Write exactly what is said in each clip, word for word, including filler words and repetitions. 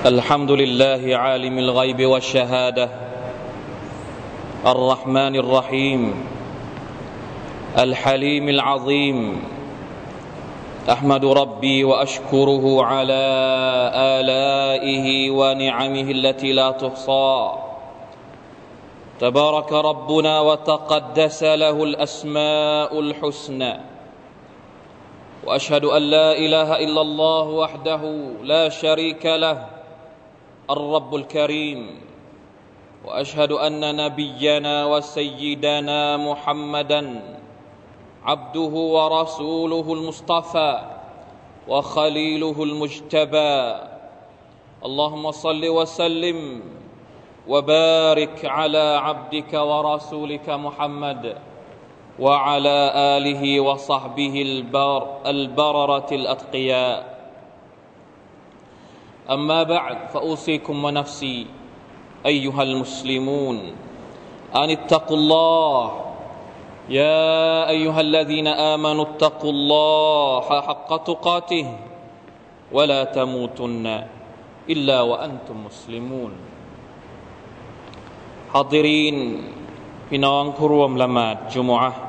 الحمد لله عالم الغيب والشهادة الرحمن الرحيم الحليم العظيم أحمد ربي وأشكره على آلائه ونعمه التي لا تحصى تبارك ربنا وتقدس له الأسماء الحسنى وأشهد أن لا إله إلا الله وحده لا شريك له الرب الكريم وأشهد أن نبينا وسيدنا محمدا عبده ورسوله المصطفى وخليله المجتبى اللهم صل وسلم وبارك على عبدك ورسولك محمد وعلى آله وصحبه البر البررة الأتقياء أما بعد فأوصيكم ونفسي أيها المسلمون أن اتقوا الله يا أيها الذين آمنوا اتقوا الله حق تقاته ولا تموتن إلا وأنتم مسلمون حاضرين พี่น้องผู้ร่วมละหมาดจุมอะห์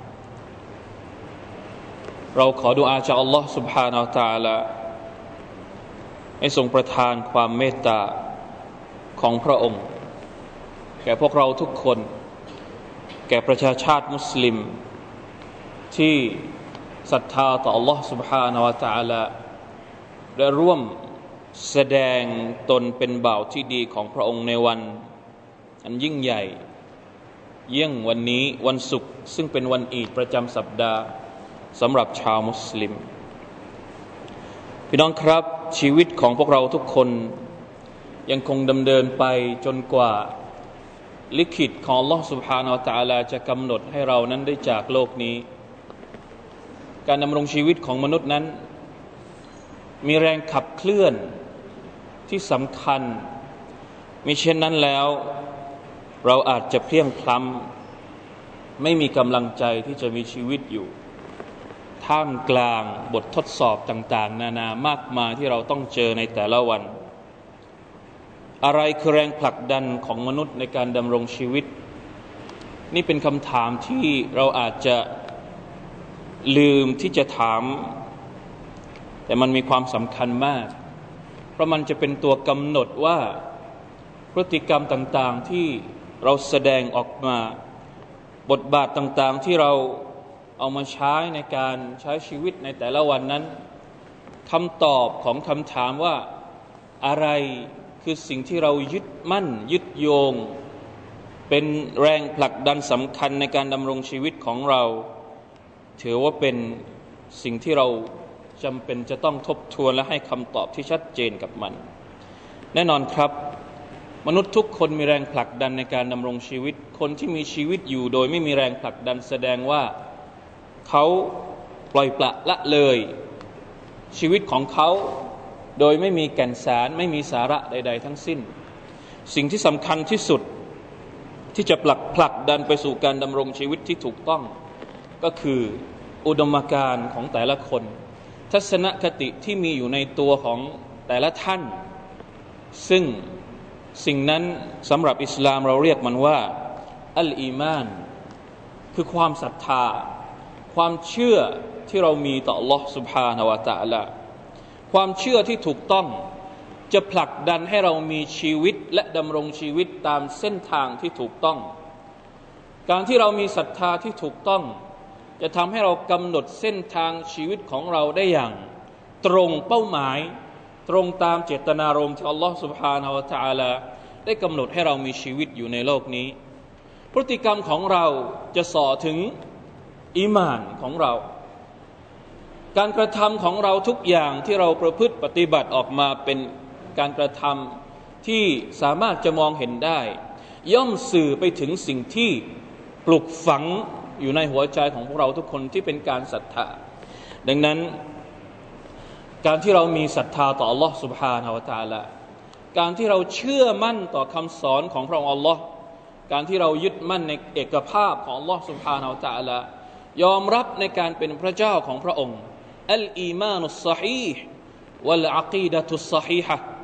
เราขอดุอาจากอัลลอฮฺ سبحانه และ تعالى ให้ทรงประทานความเมตตาของพระองค์แก่พวกเราทุกคนแก่ประชาชาติมุสลิมที่ศรัทธาต่ออัลลอฮฺ سبحانه และ تعالى ได้ร่วมแสดงตนเป็นบ่าวที่ดีของพระองค์ในวันอันยิ่งใหญ่เยี่ยงวันนี้วันศุกร์ซึ่งเป็นวันอีดประจำสัปดาห์สำหรับชาวมุสลิมพี่น้องครับชีวิตของพวกเราทุกคนยังคงดำเนินไปจนกว่าลิขิตของ Allah سبحانه และ تعالى จะกำหนดให้เรานั้นได้จากโลกนี้การดำรงชีวิตของมนุษย์นั้นมีแรงขับเคลื่อนที่สำคัญมิเช่นนั้นแล้วเราอาจจะเพลียงพล้ำไม่มีกำลังใจที่จะมีชีวิตอยู่ท่ามกลางบททดสอบต่างๆนานามากมายที่เราต้องเจอในแต่ละวันอะไรคือแรงผลักดันของมนุษย์ในการดำรงชีวิตนี่เป็นคำถามที่เราอาจจะลืมที่จะถามแต่มันมีความสำคัญมากเพราะมันจะเป็นตัวกำหนดว่าพฤติกรรมต่างๆที่เราแสดงออกมาบทบาทต่างๆที่เราเอามาใช้ในการใช้ชีวิตในแต่ละวันนั้นคำตอบของคำถามว่าอะไรคือสิ่งที่เรายึดมั่นยึดโยงเป็นแรงผลักดันสำคัญในการดำรงชีวิตของเราถือว่าเป็นสิ่งที่เราจำเป็นจะต้องทบทวนและให้คำตอบที่ชัดเจนกับมันแน่นอนครับมนุษย์ทุกคนมีแรงผลักดันในการดำรงชีวิตคนที่มีชีวิตอยู่โดยไม่มีแรงผลักดันแสดงว่าเขาปล่อยปละละเลยชีวิตของเขาโดยไม่มีแก่นสารไม่มีสาระใดๆทั้งสิ้นสิ่งที่สำคัญที่สุดที่จะผลักผลักดันไปสู่การดำรงชีวิตที่ถูกต้องก็คืออุดมการณ์ของแต่ละคนทัศนคติที่มีอยู่ในตัวของแต่ละท่านซึ่งสิ่งนั้นสำหรับอิสลามเราเรียกมันว่าอัลอีมานคือความศรัทธาความเชื่อที่เรามีต่อ Allah سبحانه และ تعالى ความเชื่อที่ถูกต้องจะผลักดันให้เรามีชีวิตและดำรงชีวิตตามเส้นทางที่ถูกต้องการที่เรามีศรัทธาที่ถูกต้องจะทำให้เรากำหนดเส้นทางชีวิตของเราได้อย่างตรงเป้าหมายตรงตามเจตนารมณ์ที่ Allah سبحانه และ تعالى ได้กำหนดให้เรามีชีวิตอยู่ในโลกนี้พฤติกรรมของเราจะส่อถึงอีหม่านของเราการกระทำของเราทุกอย่างที่เราประพฤติปฏิบัติออกมาเป็นการกระทำที่สามารถจะมองเห็นได้ย่อมสื่อไปถึงสิ่งที่ปลุกฝังอยู่ในหัวใจของพวกเราทุกคนที่เป็นการศรัทธาดังนั้นการที่เรามีศรัทธาต่อ Allah سبحانه และ تعالى การที่เราเชื่อมั่นต่อคำสอนของพระองค์ Allah การที่เรายึดมั่นในเอกภาพของ Allah سبحانه และ تعالى ยอมรับในการเป็นพระเจ้าของพระองค์อัลอีมานุสซอฮีห์วัลอะกีดะตุสซอฮีฮะห์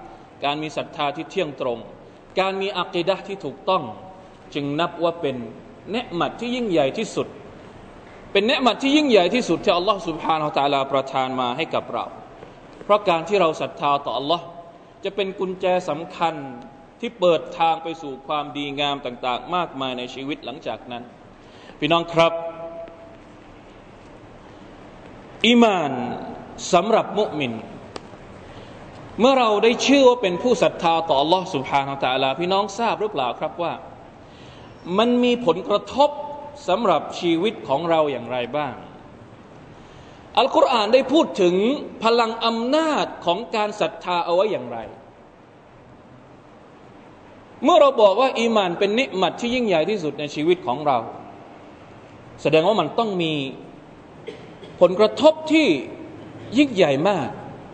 การมีศรัทธาที่เที่ยงตรงการมีอะกีดะห์ที่ถูกต้องจึงนับว่าเป็นเนือมัตที่ยิ่งใหญ่ที่สุดเป็นเนือมัตที่ยิ่งใหญ่ที่สุดที่อัลลอฮฺ سبحانه และ تعالى ประทานมาให้กับเราเพราะการที่เราศรัทธาต่ออัลลอฮ์จะเป็นกุญแจสำคัญที่เปิดทางไปสู่ความดีงามต่างๆมากมายในชีวิตหลังจากนั้นพี่น้องครับอีมานสำหรับมุมินเมื่อเราได้ชื่อว่าเป็นผู้ศรัทธาต่อ Allah سبحانه และ تعالى พี่น้องทราบหรือเปล่าครับว่ามันมีผลกระทบสำหรับชีวิตของเราอย่างไรบ้างอัลกุรอานได้พูดถึงพลังอำนาจของการศรัทธาเอาไว้อย่างไรเมื่อเราบอกว่าอีมานเป็นนิมัตที่ยิ่งใหญ่ที่สุดในชีวิตของเราแสดงว่ามันต้องมีผลกระทบที่ยิ่งใหญ่มาก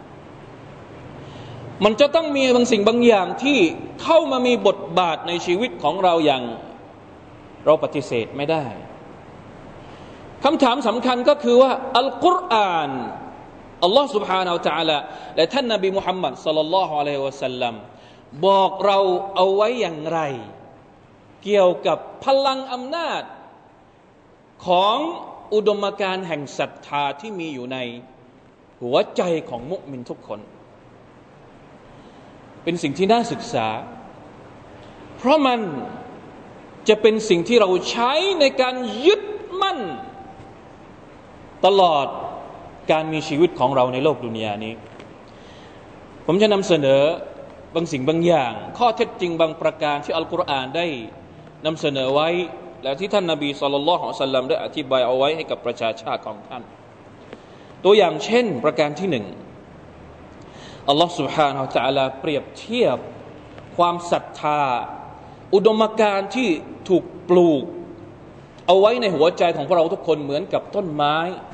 มันจะต้องมีบางสิ่งบางอย่างที่เข้ามามีบทบาทในชีวิตของเราอย่างเราปฏิเสธไม่ได้คำถามสำคัญก็คือว่าอัลกุรอานอัลลอฮฺ سبحانه และ تعالى และท่านนบีมุฮัมมัดศ็อลลัลลอฮุอะลัยฮิวะซัลลัมบอกเราเอาไว้อย่างไรเกี่ยวกับพลังอำนาจของอุดมการณ์แห่งศรัทธาที่มีอยู่ในหัวใจของมุมินทุกคนเป็นสิ่งที่น่าศึกษาเพราะมันจะเป็นสิ่งที่เราใช้ในการยึดมั่นตลอดการมีชีวิตของเราในโลกดุนยานี้ผมจะนำเสนอบางสิ่งบางอย่างข้อเท็จจริงบางประการที่อัลกุรอานได้นำเสนอไว้และที่ท่านนบีศ็อลลัลลอฮุอะลัยฮิวะซัลลัมได้อธิบายเอาไว้ให้กับประชาชาติของท่านตัวอย่างเช่นประการที่หนึ่งอัลลอฮฺ سبحانه และ تعالى เปรียบเทียบความศรัทธาอุดมการณ์ที่ถูกปลูกเอาไว้ในหัวใจของพวกเราทุกคนเหมือนกับต้นไม้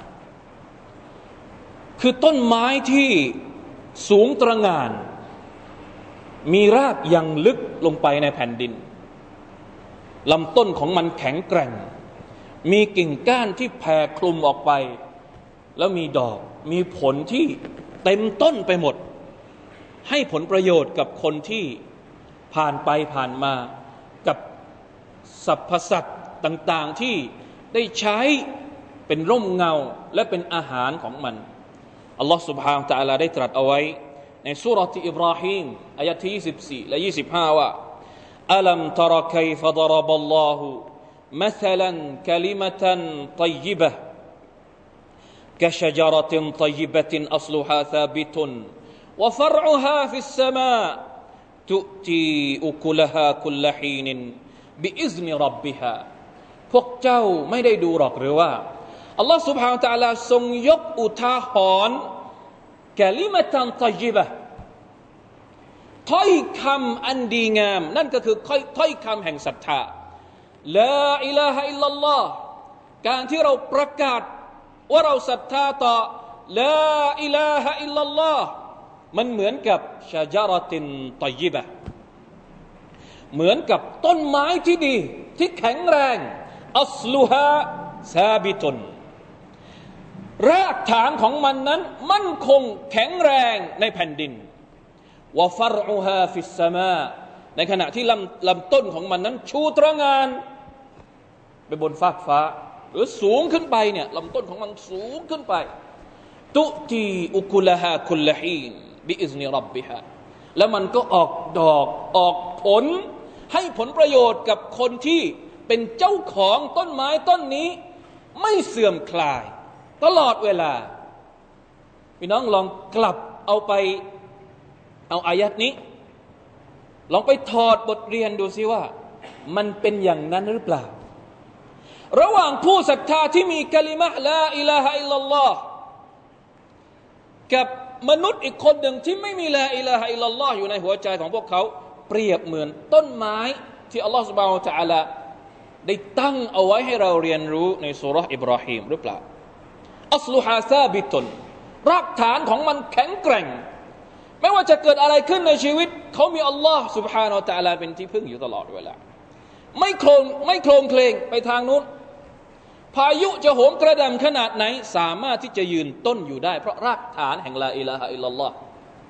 คือต้นไม้ที่สูงตระหง่านมีรากยังลึกลงไปในแผ่นดินลำต้นของมันแข็งแกร่งมีกิ่งก้านที่แผ่คลุมออกไปแล้วมีดอกมีผลที่เต็มต้นไปหมดให้ผลประโยชน์กับคนที่ผ่านไปผ่านมากับสรรพสัตว์ต่างๆที่ได้ใช้เป็นร่มเงาและเป็นอาหารของมันอัลลอฮฺ سبحانه และ تعالى ได้ตรัสเอาไว้ในซูเราะห์อิบราฮีมอายะห์ที่ยี่สิบสี่และยี่สิบห้าว่าอัลัมตะรกัยฟะฎรบัลลอฮุมะษลันกะลิมะตันฏอยยิบะฮ์กะชะญะเราะตินฏอยยิบะตินอัศลุฮาซาบิตุนวะฟัรอุฮาฟิสสมาตุตีอุกุลฮาคุลฮีนบิอิซนิร็อบบิฮาพวกเจ้าไม่ได้ดูหรอกหรือว่าอัลลอฮฺ سبحانه และ تعالى ทรงยกอุทาหรณ์กะลิมะตันฏอยยิบะฮ์ถ้อยคำอันดีงามนั่นก็คือถ้อยคำแห่งศรัทธาลาอิลาฮะอิลลัลลอฮ์การที่เราประกาศว่าเราศรัทธาต่อลาอิลาฮะอิลลัลลอฮ์มันเหมือนกับชะญะเราะตินฏอยยิบะฮ์เหมือนกับต้นไม้ที่ดีที่แข็งแรงอัศลุฮาซาบิตุนรากฐานของมันนั้นมั่นคงแข็งแรงในแผ่นดินวะฟัรอุฮาฟิสสมาในขณะที่ลำลำต้นของมันนั้นชูตระหง่านไปบนฟากฟ้าหรือสูงขึ้นไปเนี่ยลำต้นของมันสูงขึ้นไปตุตีอุกุลฮาคุลฮีนบิอิซนิร็อบบิฮาแล้วมันก็ออกดอกออกผลให้ผลประโยชน์กับคนที่เป็นเจ้าของต้นไม้ต้นนี้ไม่เสื่อมคลายตลอดเวลาพี่น้องลองกลับเอาไปเอาอายัดนี้ลองไปถอดบทเรียนดูซิว่ามันเป็นอย่างนั้นหรือเปล่าระหว่างผู้ศรัทธาที่มีกะลิมะห์ลาอิลาฮะอิลลัลลอฮ์กับมนุษย์อีกคนหนึ่งที่ไม่มีลาอิลาฮะอิลลัลลอฮ์อยู่ในหัวใจของพวกเขาเปรียบเหมือนต้นไม้ที่อัลลอฮฺซุบฮานะฮูวะตะอาลาได้ตั้งเอาไว้ให้เราเรียนรู้ในซูเราะห์อิบราฮีมหรือเปล่าอัศลุฮาซาบิตุนรากฐานของมันแข็งแกร่งไม่ว่าจะเกิดอะไรขึ้นในชีวิตเขามีอัลลอฮ์ سبحانه และ تعالى เป็นที่พึ่งอยู่ตลอดเวลาไม่โคลนไม่โคลนเคลงไปทางนู้นพายุจะโหมกระหน่ำขนาดไหนสามารถที่จะยืนต้นอยู่ได้เพราะรากฐานแห่งลาอิลาฮะอิลลัลลอฮ์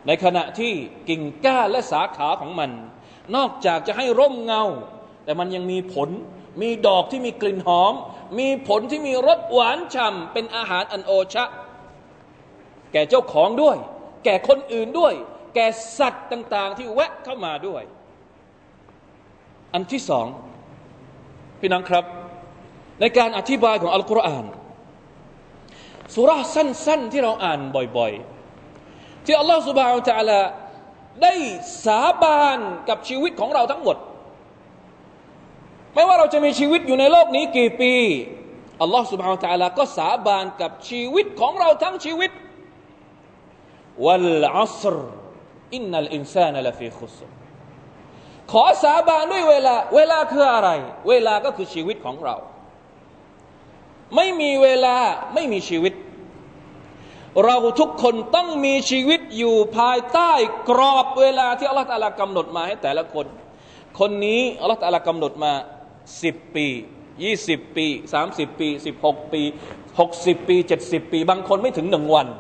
ในขณะที่กิ่งก้านและสาขาของมันนอกจากจะให้ร่มเงาแต่มันยังมีผลมีดอกที่มีกลิ่นหอมมีผลที่มีรสหวานฉ่ำเป็นอาหารอันโอชะแก่เจ้าของด้วยแก่คนอื่นด้วยแก่สัตว์ต่างๆที่แวะเข้ามาด้วยอันที่สองพี่น้องครับในการอธิบายของอัลกุรอานซูเราะห์สั้นๆที่เราอ่านบ่อยๆที่อัลลอฮฺซุบฮานะฮูวะตะอาลาได้สาบานกับชีวิตของเราทั้งหมดไม่ว่าเราจะมีชีวิตอยู่ในโลกนี้กี่ปีอัลลอฮฺซุบฮานะฮูวะตะอาลาก็สาบานกับชีวิตของเราทั้งชีวิตวัลอัศรอินนัลอินซานะลฟีขุสรขอสาบานด้วยเวลาเวลาคืออะไรเวลาก็คือชีวิตของเราไม่มีเวลาไม่มีชีวิตเราทุกคนต้องมีชีวิตอยู่ภายใต้กรอบเวลาที่อัลลอฮฺตะอาลากำหนดมาให้แต่ละคนคนนี้อัลลอฮฺตะอาลากำหนดมาสิบปียี่สิบปีสามสิบปีสิบหกปีหกสิบปีเจ็ดสิบปีบางคนไม่ถึงหนึ่งวัน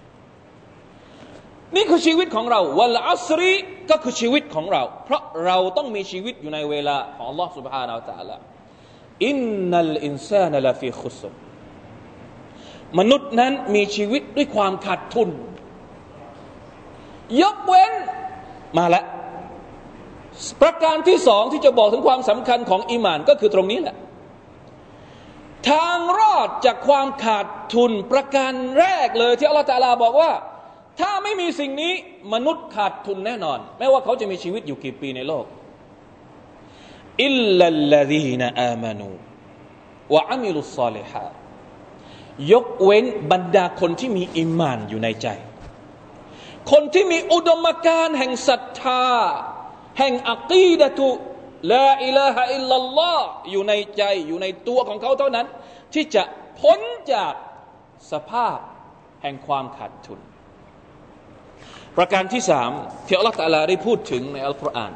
นี่คือชีวิตของเราวัลอัศรีก็คือชีวิตของเราเพราะเราต้องมีชีวิตอยู่ในเวลาของอัลลอฮฺ سبحانه และ تعالى อินนัลอินซานะลาฟีขุสรมนุษย์นั้นมีชีวิตด้วยความขาดทุนยกเว้นมาละประการที่สองที่จะบอกถึงความสำคัญของอีหม่านก็คือตรงนี้แหละทางรอดจากความขาดทุนประการแรกเลยที่อัลลอฮฺตะอาลาบอกว่าถ้าไม่มีสิ่งนี้มนุษย์ขาดทุนแน่นอนไม่ว่าเขาจะมีชีวิตอยู่กี่ปีในโลกอิลลัลลซีนอามานูวะอะมิลุศศอลิฮาตยกเว้นบรรดาคนที่มีอีหม่านอยู่ในใจคนที่มีอุดมการณ์แห่งศรัทธาแห่งอะกีดะตุลาอิลาฮะอิลลัลลอฮ์อยู่ในใจอยู่ในตัวของเขาเท่านั้นที่จะพ้นจากสภาพแห่งความขาดทุนประการที่สามที่อัลลอฮฺตะอาลาได้พูดถึงในอัลกุรอาน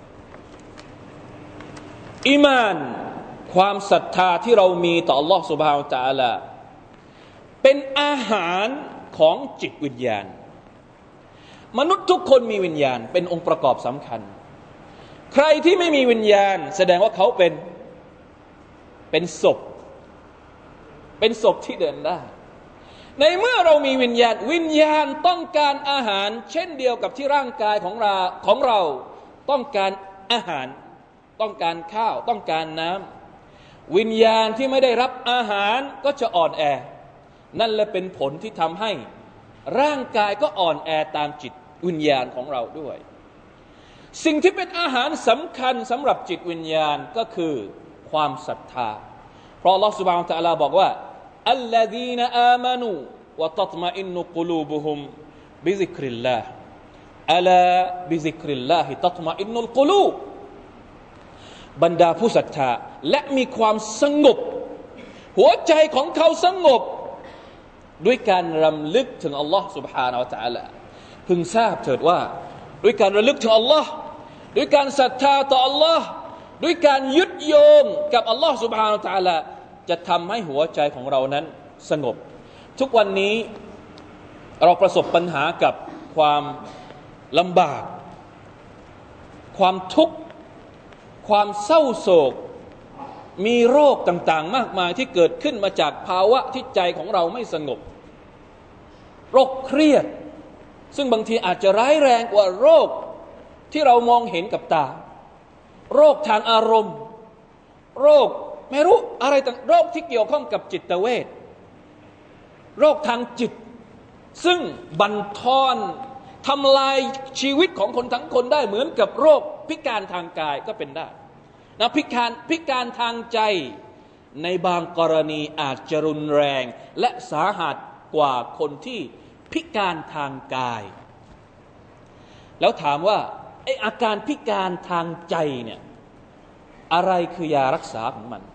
อีมานความศรัทธาที่เรามีต่ออัลลอฮฺซุบฮานะฮูวะตะอาลาเป็นอาหารของจิตวิญญาณมนุษย์ทุกคนมีวิญญาณเป็นองค์ประกอบสำคัญใครที่ไม่มีวิญญาณแสดงว่าเขาเป็นเป็นศพเป็นศพที่เดินได้ในเมื่อเรามีวิญญาณวิญญาณต้องการอาหารเช่นเดียวกับที่ร่างกายของเราของเราต้องการอาหารต้องการข้าวต้องการน้ำวิญญาณที่ไม่ได้รับอาหารก็จะอ่อนแอนั่นแหละเป็นผลที่ทำให้ร่างกายก็อ่อนแอตามจิตวิญญาณของเราด้วยสิ่งที่เป็นอาหารสำคัญสำหรับจิตวิญญาณก็คือความศรัทธาเพราะอัลลอฮฺ سبحانه และ تعالى บอกว่าอัลลซีนอามานูวะตัตมะอินนุกุลูบุฮุมบิซิกริลลาฮ์อะลาบิซิกริลลาฮิตัตมะอินนุลกุลูบบรรดาผู้ศรัทธาและมีความสงบหัวใจของเขาสงบด้วยการรำลึกถึงอัลลอฮ์ سبحانه และ تعالى พึงทราบเถิดว่าด้วยการระลึกถึงอัลลอฮ์ด้วยการศรัทธาต่ออัลลอฮ์ด้วยการยึดโยงกับอัลลอฮ์ سبحانه และ تعالى จะทำให้หัวใจของเรานั้นสงบทุกวันนี้เราประสบปัญหากับความลำบากความทุกข์ความเศร้าโศกมีโรคต่างๆมากมายที่เกิดขึ้นมาจากภาวะที่ใจของเราไม่สงบโรคเครียดซึ่งบางทีอาจจะร้ายแรงกว่าโรคที่เรามองเห็นกับตาโรคทางอารมณ์โรคไม่รู้อะไรต่างโรคที่เกี่ยวข้องกับจิตเวชโรคทางจิตซึ่งบั่นทอนทำลายชีวิตของคนทั้งคนได้เหมือนกับโรคพิการทางกายก็เป็นได้นะพิการพิการทางใจในบางกรณีอาจจะรุนแรงและสาหัสกว่าคนที่พิการทางกายแล้วถามว่าไอ้อาการพิการทางใจเนี่ยอะไรคือยารักษาของมัน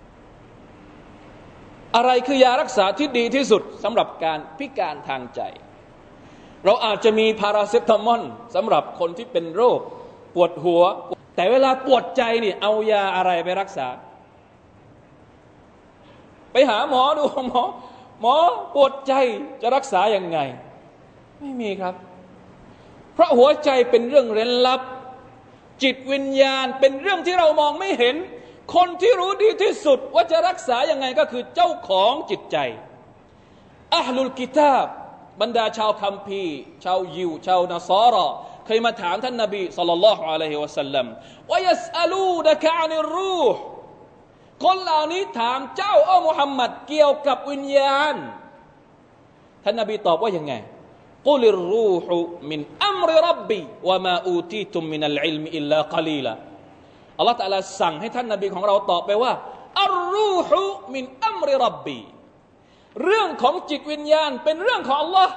อะไรคือยารักษาที่ดีที่สุดสำหรับการพิการทางใจเราอาจจะมีพาราเซตามอลสำหรับคนที่เป็นโรคปวดหัวแต่เวลาปวดใจนี่เอายาอะไรไปรักษาไปหาหมอดูหมอหมอปวดใจจะรักษายังไงไม่มีครับเพราะหัวใจเป็นเรื่องเร้นลับจิตวิญญาณเป็นเรื่องที่เรามองไม่เห็นคนที่รู้ดีที่สุดว่าจะรักษายังไงก็คือเจ้าของจิตใจอะห์ลุลกิตาบบรรดาชาวคัมภีร์ชาวยิวชาวนัสรอเคยมาถามท่านนบีศ็อลลัลลอฮุอะลัยฮิวะซัลลัมวะยัสอะลูนะกะอานิรรูห์คนเหล่านี้ถามเจ้าอ้อมุฮัมมัดเกี่ยวกับวิญญาณท่านนบีตอบว่ายังไงกุลิรรูฮุมินอัมริร็อบบีวะมาอูตีตุมมินัลอิลมิอิลลากะลีลาอัลเลาะห์ตะอาลาสั่งให้ท่านนบีของเราตอบไปว่าอัรรูฮุมินอัมริร็อบบีเรื่องของจิตวิญญาณเป็นเรื่องของอัลลอฮ์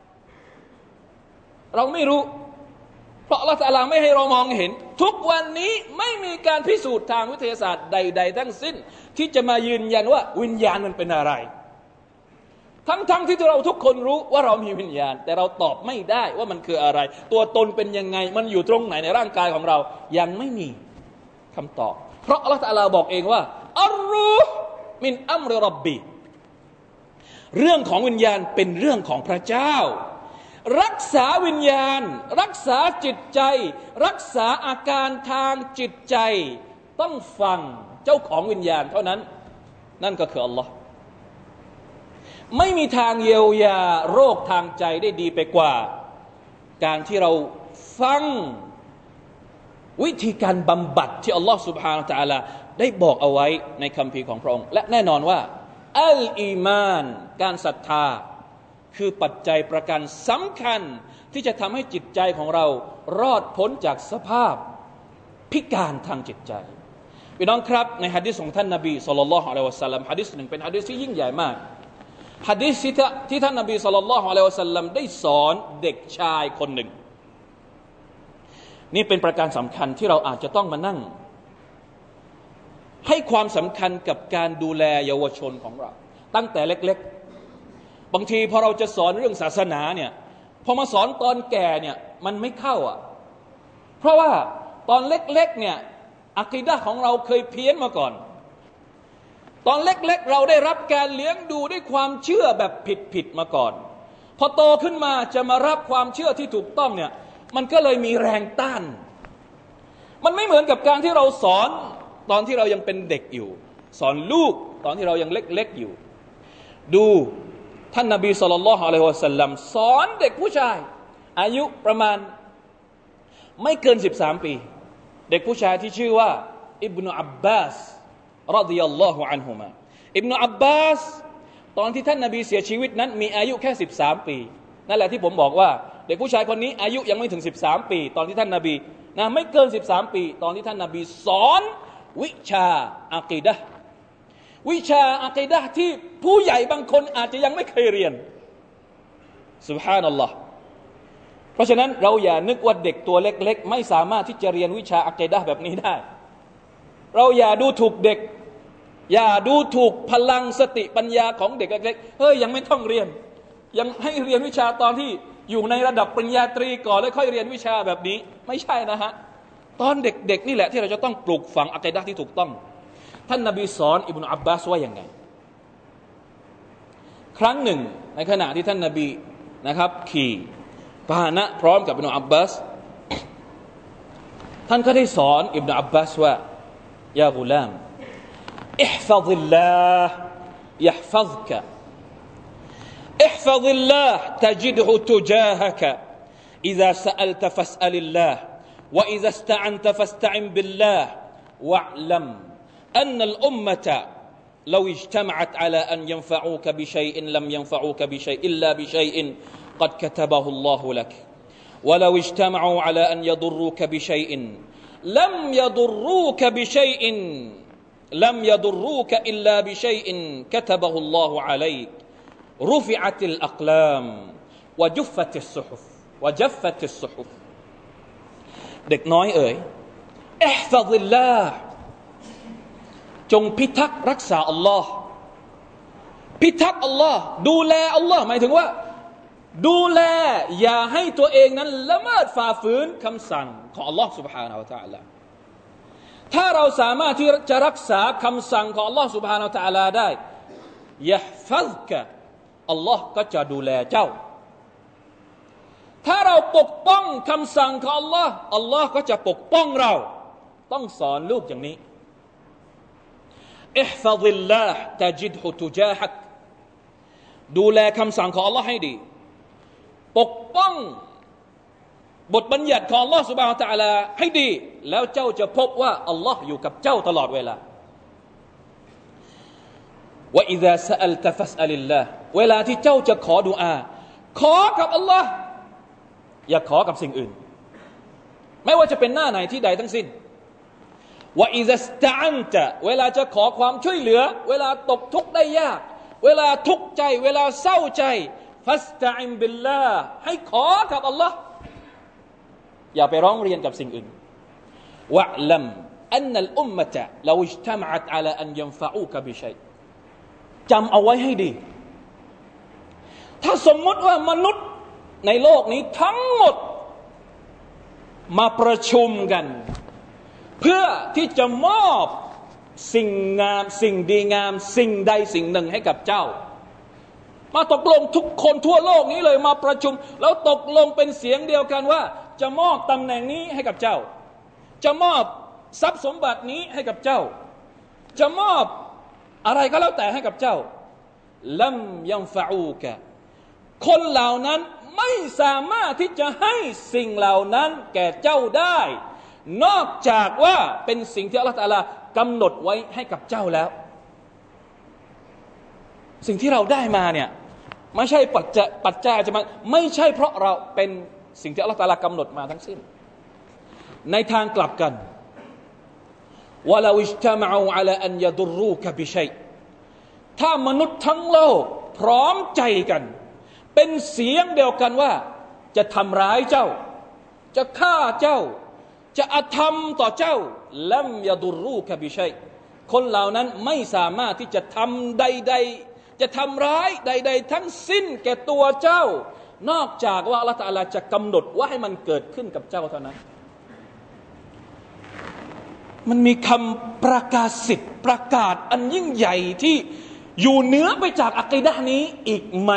เราไม่รู้เพราะอัลเลาะห์ตะอาลาไม่ให้เรามองเห็นทุกวันนี้ไม่มีการพิสูจน์ทางวิทยาศาสตร์ใดๆทั้งสิ้นที่จะมายืนยันว่าวิญญาณมันเป็นอะไรทั้งๆที่เราทุกคนรู้ว่าเรามีวิญญาณแต่เราตอบไม่ได้ว่ามันคืออะไรตัวตนเป็นยังไงมันอยู่ตรงไหนในร่างกายของเรายังไม่มีคำตอบเพราะอัลเลาะห์ตะอาลาบอกเองว่าอัรรูฮ์มินอัมริร็อบบีเรื่องของวิญญาณเป็นเรื่องของพระเจ้ารักษาวิญญาณรักษาจิตใจรักษาอาการทางจิตใจต้องฟังเจ้าของวิญญาณเท่านั้นนั่นก็คืออัลลอฮ์ไม่มีทางเยียวยาโรคทางใจได้ดีไปกว่าการที่เราฟังวิธีการบำบัดที่อัลลอฮ์ سبحانه และ تعالى ได้บอกเอาไว้ในคัมภีร์ของพระองค์และแน่นอนว่าอัลอีมานการศรัทธาคือปัจจัยประกันสำคัญที่จะทำให้จิตใจของเรารอดพ้นจากสภาพพิการทางจิตใจพี่น้องครับในหะดีษของท่านนบีศ็อลลัลลอฮุอะลัยฮิวะซัลลัมหะดีษหนึ่งเป็นหะดีษที่ยิ่งใหญ่มากหะดีษที่ท่านนบีศ็อลลัลลอฮุอะลัยฮิวะซัลลัมได้สอนเด็กชายคนหนึ่งนี่เป็นประการสำคัญที่เราอาจจะต้องมานั่งให้ความสำคัญกับการดูแลเยาวชนของเราตั้งแต่เล็กๆบางทีพอเราจะสอนเรื่องศาสนาเนี่ยพอมาสอนตอนแก่เนี่ยมันไม่เข้าอ่ะเพราะว่าตอนเล็กๆเนี่ยอะกีดะห์ของเราเคยเพี้ยนมาก่อนตอนเล็กๆเราได้รับการเลี้ยงดูด้วยความเชื่อแบบผิดๆมาก่อนพอโตขึ้นมาจะมารับความเชื่อที่ถูกต้องเนี่ยมันก็เลยมีแรงต้านมันไม่เหมือนกับการที่เราสอนตอนที่เรายังเป็นเด็กอยู่สอนลูกตอนที่เรายังเล็กๆอยู่ดูท่านนบีศ็อลลัลลอฮุอะลัยฮิวะซัลลัมสอนเด็กผู้ชายอายุประมาณไม่เกินสิบสามปีเด็กผู้ชายที่ชื่อว่าอิบนุอับบาสรอฎิยัลลอฮุอันฮุมาอิบนุอับบาสตอนที่ท่านนบีเสียชีวิตนั้นมีอายุแค่สิบสามปีนั่นแหละที่ผมบอกว่าเด็กผู้ชายคนนี้อายุยังไม่ถึงสิบสามปีตอนที่ท่านนบีนะไม่เกินสิบสามปีตอนที่ท่านนบีสอนวิชาอะกีดะห์วิชาอะกีดะห์ที่ผู้ใหญ่บางคนอาจจะยังไม่เคยเรียนซุบฮานัลลอฮ์เพราะฉะนั้นเราอย่านึกว่าเด็กตัวเล็กๆไม่สามารถที่จะเรียนวิชาอะกีดะห์แบบนี้ได้เราอย่าดูถูกเด็กอย่าดูถูกพลังสติปัญญาของเด็กเล็กๆเฮ้ยยังไม่ต้องเรียนยังให้เรียนวิชาตอนที่อยู่ในระดับปริญญาตรีก่อนแล้วค่อยเรียนวิชาแบบนี้ไม่ใช่นะฮะตอนเด็กๆนี่แหละที่เราจะต้องปลูกฝังอะกีดะห์ที่ถูกต้องท่านนบีสอนอิบนุอับบาสว่าอย่างไงครั้งหนึ่งในขณะที่ท่านนบีนะครับขี่พาหนะพร้อมกับอิบนุอับบาสท่านก็ได้สอนอิบนุอับบาสว่ายากุลามอิห์ฟัซิลลาห์ยะห์ฟัซกะاحفظ الله تجده تجاهك إذا سألت فاسأل الله وإذا استعنت فاستعن بالله واعلم أن الأمة لو اجتمعت على أن ينفعوك بشيء لم ينفعوك بشيء إلا بشيء قد كتبه الله لك ولو اجتمعوا على أن يضروك بشيء لم يضروك بشيء لم يضروك إلا بشيء كتبه الله عليك رفعت الأقلام وجفت الصحف وجفت الصحف เด็กน้อยเอ๋ยอิห์ฟัซิลลาห์จงพิทักษ์รักษาอัลลอฮ์พิทักษ์อัลลอฮ์ดูแลอัลลอฮ์หมายถึงว่าดูแลอย่าให้ตัวเองนั้นละเมิดฝ่าฝืนคำสั่งของอัลลอฮ์ سبحانه และ تعالى ถ้าเราสามารถที่จะรักษาคำสั่งของอัลลอฮ์ سبحانه และ تعالى ได้ยะห์ฟัซกะอัลลอฮ์ก็จะดูแลเจ้าถ้าเราปกป้องคำสั่งของ Allah Allah ก็จะปกป้องเราต้องสอนลูกอย่างนี้อิห์ฟัซิลลาห์ตะจิดฮุตุจาฮักดูแลคำสั่งของ Allah ให้ดีปกป้องบทบัญญัติของ Allah Subhanahu Wa Taala ให้ดีแล้วเจ้าจะพบว่า Allah อยู่กับเจ้าตลอดเวลาว่าอิซาซะอัลตะฟัสอัลิลลาห์เวลาที่เจ้าจะขอดุอาขอกับ Allah อย่าขอกับสิ่งอื่นไม่ว่าจะเป็นหน้าไหนที่ใดทั้งสิ้นว่าอิซาสตะอันตะเวลาจะขอความช่วยเหลือเวลาตกทุกข์ได้ยากเวลาทุกข์ใจเวลาเศร้าใจฟัสตะอินบิลลาห์ให้ขอกับ Allah อย่าไปร้องเรียนกับสิ่งอื่นวะลัมอันนัลอุมมะตะลาอิจตะมะอัตอะลาอันยันฟะอูกะบิชัยจำเอาไว้ให้ดีถ้าสมมติว่ามนุษย์ในโลกนี้ทั้งหมดมาประชุมกันเพื่อที่จะมอบสิ่งงามสิ่งดีงามสิ่งใดสิ่งหนึ่งให้กับเจ้ามาตกลงทุกคนทั่วโลกนี้เลยมาประชุมแล้วตกลงเป็นเสียงเดียวกันว่าจะมอบตำแหน่งนี้ให้กับเจ้าจะมอบทรัพย์สมบัตินี้ให้กับเจ้าจะมอบอะไรก็แล้วแต่ให้กับเจ้าลัมยันฟะอูกะคนเหล่านั้นไม่สามารถที่จะให้สิ่งเหล่านั้นแก่เจ้าได้นอกจากว่าเป็นสิ่งที่อัลเลาะห์ตะอาลากำหนดไว้ให้กับเจ้าแล้วสิ่งที่เราได้มาเนี่ยไม่ใช่ปัจจัยปัจจัยจะมาไม่ใช่เพราะเราเป็นสิ่งที่อัลเลาะห์ตะอาลากำหนดมาทั้งสิ้นในทางกลับกันวะลาอิจตะมะอูอะลาอันยะดุรรูกะบิชัยถ้ามนุษย์ทั้งโลกพร้อมใจกันเป็นเสียงเดียวกันว่าจะทำร้ายเจ้าจะฆ่าเจ้าจะอธรรมต่อเจ้าลัมยะดุรรูกะบิชัยคนเหล่านั้นไม่สามารถที่จะทำใดๆจะทำร้ายใดๆทั้งสิ้นแก่ตัวเจ้านอกจากว่าอัลเลาะห์ตะอาลาจะกำหนดว่าให้มันเกิดขึ้นกับเจ้าเท่านั้นมันมีคำประกาศสิทธิ์ประกาศอันยิ่งใหญ่ที่อยู่เหนือไปจากอะกีดะห์นี้อีกไหม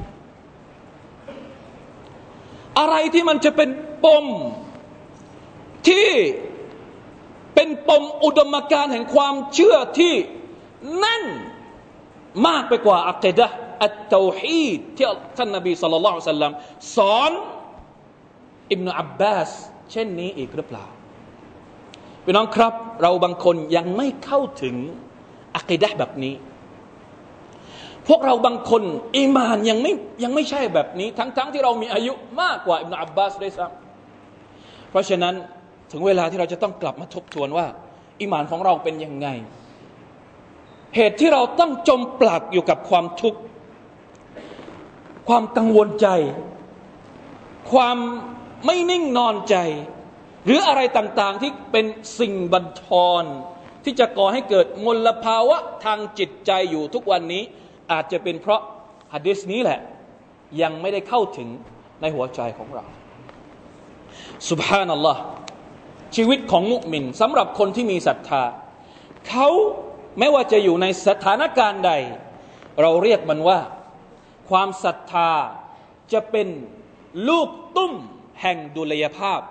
อะไรที่มันจะเป็นปมที่เป็นปมอุดมการณ์แห่งความเชื่อที่แน่นมากไปกว่าอะกีดะห์อัตเตาฮีดที่ท่านนบีศ็อลลัลลอฮุอะลัยฮิวะซัลลัมสอนอิบนุอับบาสเช่นนี้อีกหรือเปล่าพี่น้องครับเราบางคนยังไม่เข้าถึงอะกีดะห์แบบนี้พวกเราบางคนอีหม่านยังไม่ยังไม่ใช่แบบนี้ทั้งๆ ท, ที่เรามีอายุมากกว่าอิบนุอับบาสด้วยซ้ำเพราะฉะนั้นถึงเวลาที่เราจะต้องกลับมาทบทวนว่าอีหม่านของเราเป็นยังไงเหตุที่เราต้องจมปลักอยู่กับความทุกข์ความกังวลใจความไม่นิ่งนอนใจหรืออะไรต่างๆที่เป็นสิ่งบัญชรที่จะก่อให้เกิดมลภาวะทางจิตใจอยู่ทุกวันนี้อาจจะเป็นเพราะหะดีษนี้แหละยังไม่ได้เข้าถึงในหัวใจของเราซุบฮานัลลอฮ์ชีวิตของมุมินสำหรับคนที่มีศรัทธาเขาไม่ว่าจะอยู่ในสถานการณ์ใดเราเรียกมันว่าความศรัทธาจะเป็นลูกตุ้มแห่งดุลยภาพ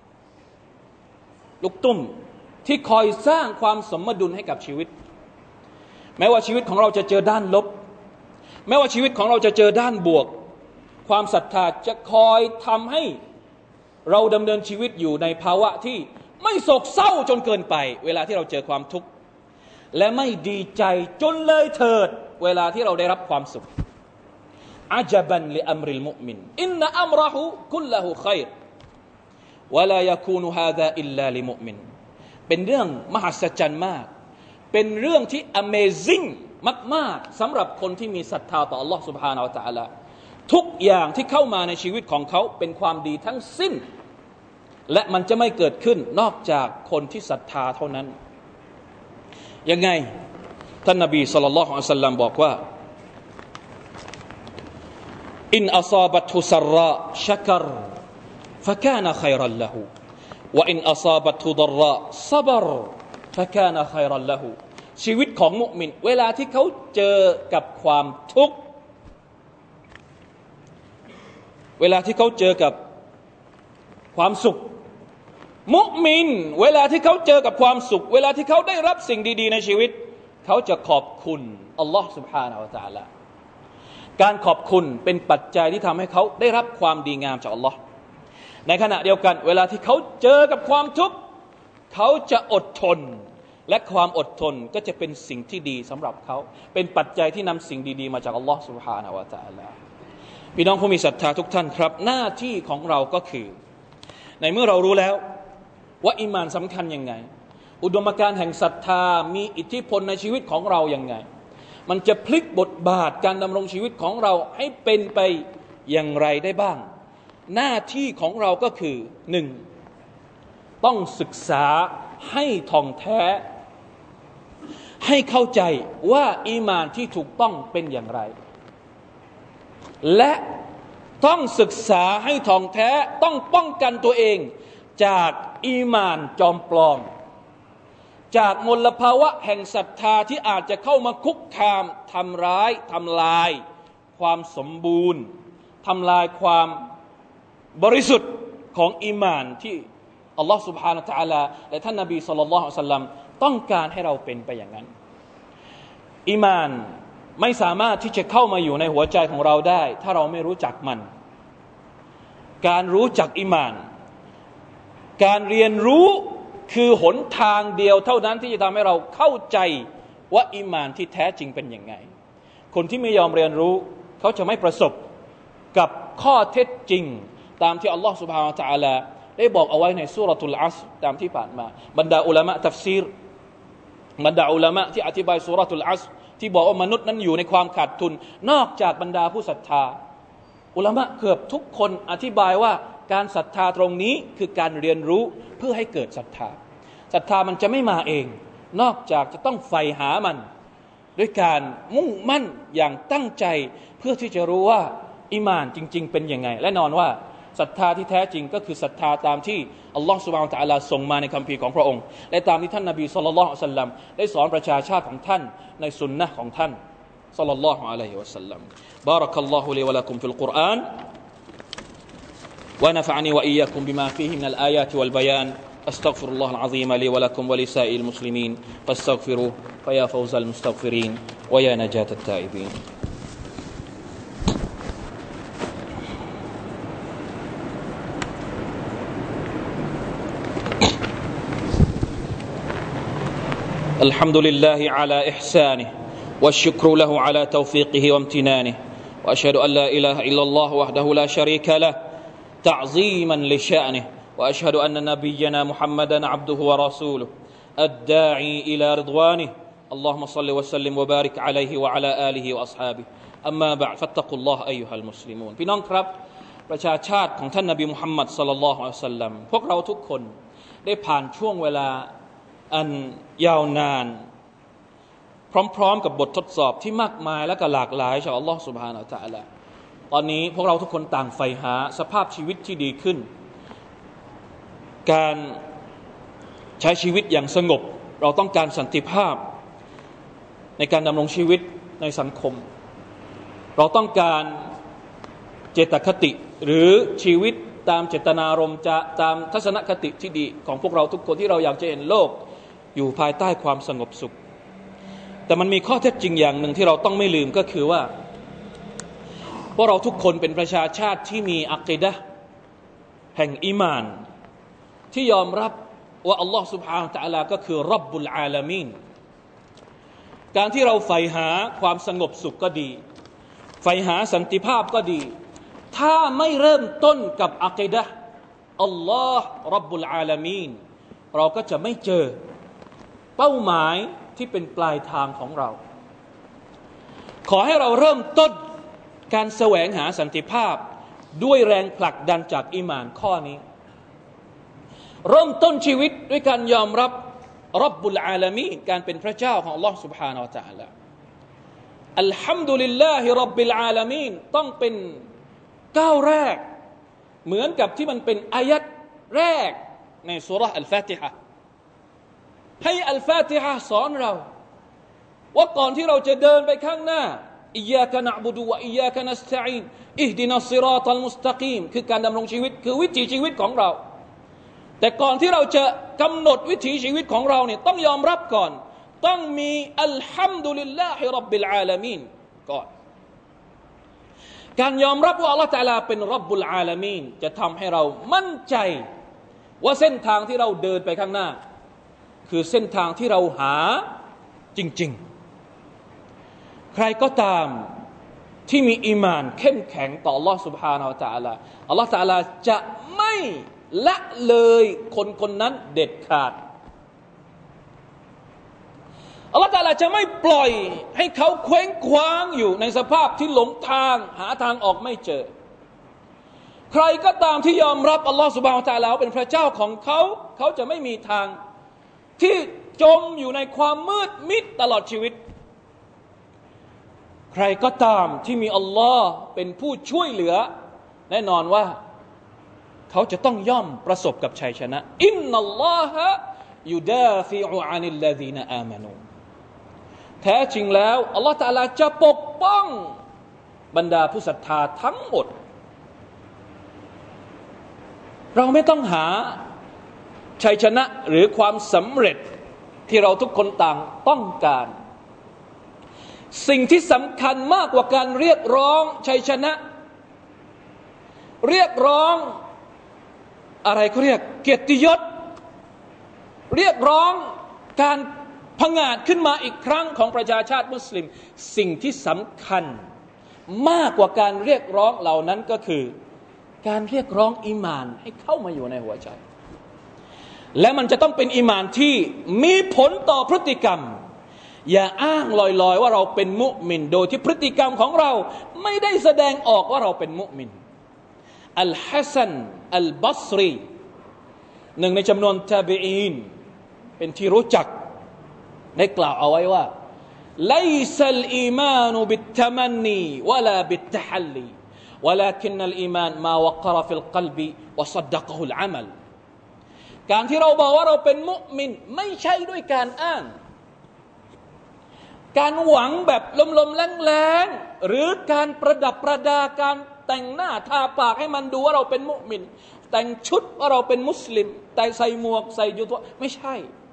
ลูกตุ้มที่คอยสร้างความสมดุลให้กับชีวิตแม้ว่าชีวิตของเราจะเจอด้านลบแม้ว่าชีวิตของเราจะเจอด้านบวกความศรัทธาจะคอยทำให้เราดำเนินชีวิตอยู่ในภาวะที่ไม่โศกเศร้าจนเกินไปเวลาที่เราเจอความทุกข์และไม่ดีใจจนเลยเถิดเวลาที่เราได้รับความสุขอาจบันลิอัมริลมุอ์มินอินนะอัมรฮุคุลละฮุค็อยรวะลายะคูนุฮาซาอิลลาลิมุอ์มินเป็นเรื่องมหัศจรรย์มากเป็นเรื่องที่ Amazing มากๆสำหรับคนที่มีศรัทธาต่อ Allah Subhanahu Wa Taala ทุกอย่างที่เข้ามาในชีวิตของเขาเป็นความดีทั้งสิ้นและมันจะไม่เกิดขึ้นนอกจากคนที่ศรัทธาเท่านั้นยังไงท่านนบีศ็อลลัลลอฮุอะลัยฮิวะซัลลัมบอกว่าอินอัศาบะตุซรราชักรฟะกานะค็อยรันละฮูวะอินอัศาบะตุฎรราศะบรฟะกานะค็อยรันละฮูชีวิตของมุมินเวลาที่เขาเจอกับความทุกข์เวลาที่เขาเจอกับความสุขมุมินเวลาที่เขาเจอกับความสุขเวลาที่เขาได้รับสิ่งดีๆในชีวิตเขาจะขอบคุณอัลลอฮ์ سبحانه และ تعالى การขอบคุณเป็นปัจจัยที่ทำให้เขาได้รับความดีงามจากอัลลอฮ์ในขณะเดียวกันเวลาที่เขาเจอกับความทุกข์เขาจะอดทนและความอดทนก็จะเป็นสิ่งที่ดีสำหรับเขาเป็นปัจจัยที่นำสิ่งดีๆมาจากอัลลอฮ์ سبحانه และ تعالى พี่น้องผู้มีศรัทธาทุกท่านครับหน้าที่ของเราก็คือในเมื่อเรารู้แล้วว่าอีหม่านสำคัญยังไงอุดมการณ์แห่งศรัทธามีอิทธิพลในชีวิตของเรายังไงมันจะพลิกบทบาทการดำรงชีวิตของเราให้เป็นไปอย่างไรได้บ้างหน้าที่ของเราก็คือหนึ่งต้องศึกษาให้ท่องแท้ให้เข้าใจว่าอีหม่านที่ถูกต้องเป็นอย่างไรและต้องศึกษาให้ท่องแท้ต้องป้องกันตัวเองจากอีหม่านจอมปลอมจากมลภาวะแห่งศรัทธาที่อาจจะเข้ามาคุกคามทำร้ายทำลายความสมบูรณ์ทำลายความบริสุทธิ์ของอีหม่านที่อัลลอฮฺ سبحانه และ تعالى และท่านนบีศ็อลลัลลอฮุอะลัยฮิวะซัลลัมต้องการให้เราเป็นไปอย่างนั้นอีหม่านไม่สามารถที่จะเข้ามาอยู่ในหัวใจของเราได้ถ้าเราไม่รู้จักมันการรู้จักอีหม่านการเรียนรู้คือหนทางเดียวเท่านั้นที่จะทำให้เราเข้าใจว่าอีหม่านที่แท้จริงเป็นยังไงคนที่ไม่ยอมเรียนรู้เขาจะไม่ประสบกับข้อเท็จจริงตามที่อัลลอฮฺ سبحانه และ تعالى ได้บอกเอาไว้ในซูเราะตุลอัศรตามที่ผ่านมาบรรดาอุลามะตัฟซีรบรรดาอุลามะที่อธิบายซูเราะตุลอัศรที่บอกว่ามนุษย์นั้นอยู่ในความขาดทุนนอกจากบรรดาผู้ศรัทธาอุลามะเกือบทุกคนอธิบายว่าการศรัทธาตรงนี้คือการเรียนรู้เพื่อให้เกิดศรัทธาศรัทธามันจะไม่มาเองนอกจากจะต้องใฝ่หามันด้วยการมุ่งมั่นอย่างตั้งใจเพื่อที่จะรู้ว่าอีหม่านจริงๆเป็นยังไงและแน่นอนว่าศรัทธาที่แท้จริงก็คือศรัทธาตามที่อัลลอฮฺซุบฮานะฮูวะตะอาลาส่งมาในคัมภีร์ของพระองค์และตามที่ท่านนบีศ็อลลัลลอฮุอะลัยฮิวะซัลลัมได้สอนประชาชาติของท่านในสุนนะห์ของท่านศ็อลลัลลอฮุอะลัยฮิวะซัลลัมบารักัลลอฮุลีวะละกุมฟิลกุรอานونفعني وإياكم بما فيه من الآيات والبيان أستغفر الله العظيم لي ولكم ولسائر المسلمين فاستغفروه فيا فوز المستغفرين ويا نجاة التائبين الحمد لله على إحسانه والشكر له على توفيقه وامتنانه وأشهد أن لا إله إلا الله وحده لا شريك له تعظيما لشأنه وأشهد أن نبينا محمدا عبده ورسوله الداعي إلى رضوانه اللهم صل وسلم وبارك عليه وعلى آله وأصحابه أما بعد فاتقوا الله أيها المسلمون พี่น้องครับประชาชาติของท่านนบีมุฮัมมัดศ็อลลัลลอฮุอะลัยฮิวะซัลลัมพวกเราทุกคนได้ผ่านช่วงเวลาอันยาวนานพร้อมๆกับบททดสอบที่มากมายและก็หลากหลายจากอัลลอฮฺ سبحانه และ تعالى ตอนนี้พวกเราทุกคนต่างใฝ่หาสภาพชีวิตที่ดีขึ้นการใช้ชีวิตอย่างสงบเราต้องการสันติภาพในการดำรงชีวิตในสังคมเราต้องการเจตคติหรือชีวิตตามเจตนารมณ์จะตามทัศนคติที่ดีของพวกเราทุกคนที่เราอยากจะเห็นโลกอยู่ภายใต้ความสงบสุขแต่มันมีข้อเท็จจริงอย่างหนึ่งที่เราต้องไม่ลืมก็คือว่าพวกเราทุกคนเป็นประชาชาติที่มีอะกีดะห์แห่งอีหม่านที่ยอมรับว่าอัลลอฮฺ سبحانه และ تعالى ก็คือร็อบบุลอาลามีนการที่เราใฝ่หาความสงบสุขก็ดีใฝ่หาสันติภาพก็ดีถ้าไม่เริ่มต้นกับอะกีดะห์อัลลอฮฺร็อบบุลอาลามีนเราก็จะไม่เจอเป้าหมายที่เป็นปลายทางของเราขอให้เราเริ่มต้นการแสวงหาสันติภาพด้วยแรงผลักดันจากอีหม่านข้อนี้เริ่มต้นชีวิตด้วยการยอมรับร็อบบุลอาลามีนการเป็นพระเจ้าของอัลลอฮฺ سبحانه และ تعالى อัลฮัมดุลิลลาฮิร็อบบิลอาลามีนต้องเป็นก้าวแรกเหมือนกับที่มันเป็นอายัดแรกในซูเราะห์อัลฟาติฮะห์ให้อัลฟาติฮะห์สอนเราว่าก่อนที่เราจะเดินไปข้างหน้าอิยยาคะนะอ์บุดุวะอิยยาคะนัสตะอีนอิฮดินัสศิรอตัลมุสตะกีมคือการดำรงชีวิตคือวิถีชีวิตของเราแต่ก่อนที่เราจะกำหนดวิถีชีวิตของเราเนี่ยต้องยอมรับก่อนต้องมีอัลฮัมดุลิลลาฮิร็อบบิลอาลามีนก่อนการยอมรับว่าอัลเลาะห์ตะอาลาเป็นร็อบบุลอาลามีนจะทำให้เรามั่นใจว่าเส้นทางที่เราเดินไปข้างหน้าคือเส้นทางที่เราหาจริงๆใครก็ตามที่มีอีหม่านเข้มแข็งต่ออัลเลาะห์ซุบฮานะฮูวะตะอาลาอัลเลาะห์ตะอาลาจะไม่ละเลยคนคนนั้นเด็ดขาดอัลเลาะห์ตะอาลาจะไม่ปล่อยให้เขาเคว้งคว้างอยู่ในสภาพที่หลงทางหาทางออกไม่เจอใครก็ตามที่ยอมรับอัลลอฮฺซุบฮานะฮูวะตะอาลาเป็นพระเจ้าของเขาเขาจะไม่มีทางที่จมอยู่ในความมืดมิดตลอดชีวิตใครก็ตามที่มีอัลลอฮ์เป็นผู้ช่วยเหลือแน่นอนว่าเขาจะต้องย่อมประสบกับชัยชนะอินนัลลอฮะยุดาฟิอุอานิลลซีนอามานูแท้จริงแล้วอัลลอฮ์ตะอาลาจะปกป้องบรรดาผู้ศรัทธาทั้งหมดเราไม่ต้องหาชัยชนะหรือความสำเร็จที่เราทุกคนต่างต้องการสิ่งที่สำคัญมากกว่าการเรียกร้องชัยชนะเรียกร้องอะไรเขาเรียกเกียรติยศเรียกร้องการผงาดขึ้นมาอีกครั้งของประชาชาติมุสลิมสิ่งที่สำคัญมากกว่าการเรียกร้องเหล่านั้นก็คือการเรียกร้องอีหม่านให้เข้ามาอยู่ในหัวใจและมันจะต้องเป็นอีหม่านที่มีผลต่อพฤติกรรมอย่าอ้างลอยๆว่าเราเป็นมุมินโดยที่พฤติกรรมของเราไม่ได้แสดงออกว่าเราเป็นมุมินอัลฮัสซันอัลบัศรีหนึ่งในจำนวนตาบีอีนเป็นที่รู้จักได้กล่าวเอาไว้ว่าไลซัลอีมานบิตตะมันนีวะลาบิตตะฮัลลีولكن الإيمان ما وقر في القلب وصدقه العمل การที่เราบอกว่าเราเป็นมุมินไม่ใช่ด้วยการอ้างการหวังแบบลมๆแรงๆหรือการประดับประดาการแต่งหน้าทาปากให้มันดูว่าเราเป็นมุมินแต่งชุดว่าเราเป็นมุสลิมแต่ใส่หมวกใส่ยูตัวไม่ใช่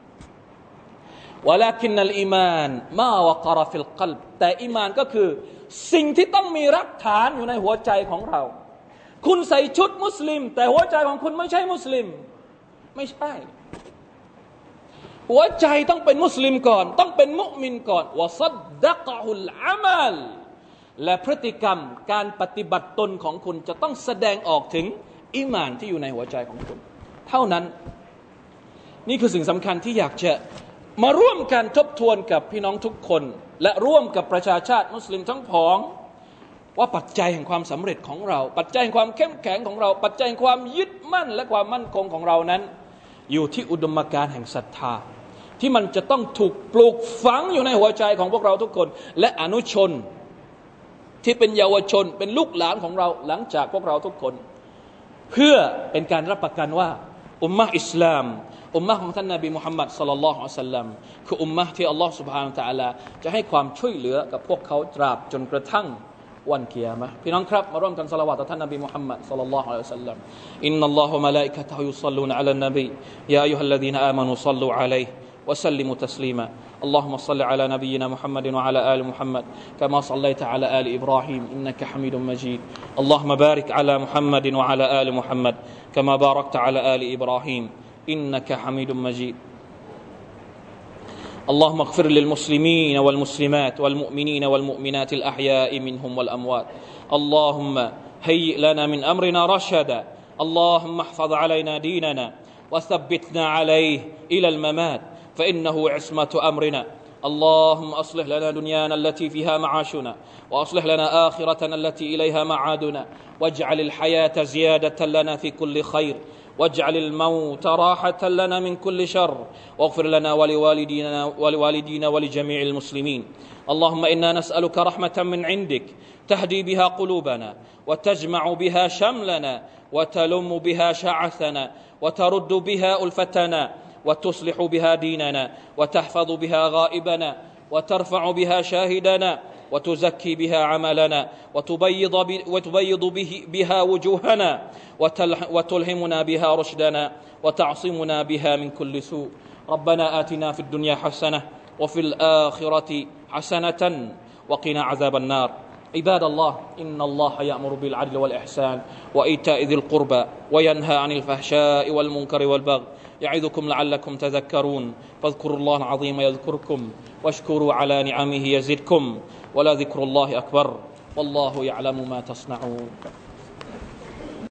ولكن الإيمان ما وقر في القلب แต่อีหม่านก็คือสิ่งที่ต้องมีรากฐานอยู่ในหัวใจของเราคุณใส่ชุดมุสลิมแต่หัวใจของคุณไม่ใช่มุสลิมไม่ใช่หัวใจต้องเป็นมุสลิมก่อนต้องเป็นมุมินก่อนวะซัดดะกะฮุลอามัลและพฤติกรรมการปฏิบัติตนของคุณจะต้องแสดงออกถึงอีหม่านที่อยู่ในหัวใจของคุณเท่านั้นนี่คือสิ่งสำคัญที่อยากจะมาร่วมกันทบทวนกับพี่น้องทุกคนและร่วมกับประชาชาติมุสลิมทั้งผองว่าปัจจัยแห่งความสำเร็จของเราปัจจัยแห่งความเข้มแข็งของเราปัจจัยแห่งความยึดมั่นและความมั่นคงของเรานั้นอยู่ที่อุดมการณ์แห่งศรัทธาที่มันจะต้องถูกปลูกฝังอยู่ในหัวใจของพวกเราทุกคนและอนุชนที่เป็นเยาวชนเป็นลูกหลานของเราหลังจากพวกเราทุกคนเพื่อเป็นการรับประกันว่าอุมมะห์อิสลามอุมมะห์ของท่านนบีมุฮัมมัดศ็อลลัลลอฮุอะลัยฮิวะซัลลัมคืออุมมะห์ที่อัลลอฮฺซุบฮานะฮูวะตะอาลาจะให้ความช่วยเหลือกับพวกเขาตราบจนกระทั่งวันกิยามะห์พี่น้องครับมาร่วมกันศอลาวาตต่อท่านนบีมุฮัมมัดศ็อลลัลลอฮุอะลัยฮิวะซัลลัมอินนัลลอฮะวะมะลาอิกะตุฮุยุศ็อลลูนอะลันนบียาอัยยูฮัลลซีนาอามานูศ็อลลูอะลัยฮิวะซัลลิมุตัสลีมาاللهم صل على نبينا محمد وعلى آل محمد كما صليت على آل إبراهيم إنك حميد مجيد اللهم بارك على محمد وعلى آل محمد كما باركت على آل إبراهيم إنك حميد مجيد اللهم اغفر للمسلمين والمسلمات والمؤمنين والمؤمنات الأحياء منهم والأموات اللهم هيئ لنا من أمرنا رشدا اللهم احفظ علينا ديننا وثبتنا عليه إلى الممات فإنه عصمة أمرنا اللهم أصلح لنا دنيانا التي فيها معاشنا وأصلح لنا آخرتنا التي إليها معادنا واجعل الحياة زيادة لنا في كل خير واجعل الموت راحة لنا من كل شر واغفر لنا ولوالدينا ولوالدينا ولجميع المسلمين اللهم إنا نسألك رحمة من عندك تهدي بها قلوبنا وتجمع بها شملنا وتلم بها شعثنا وترد بها ألفتنا وتصلح بها ديننا وتحفظ بها غائبنا وترفع بها شاهدنا وتزكي بها عملنا وتبيض, وتبيض به بها وجوهنا وتلهمنا بها رشدنا وتعصمنا بها من كل سوء. ربنا آتنا في الدنيا حسنة وفي الآخرة حسنة وقنا عذاب النار. عباد الله، إن الله يأمر بالعدل والإحسان وإيتاء ذي القربى وينهى عن الفحشاء والمنكر والبغي يعظكم لعلكم تذكرون. فاذكروا الله العظيم يذكركم واشكروا على نعمه يزدكم ولذكر الله أكبر والله يعلم ما تصنعون.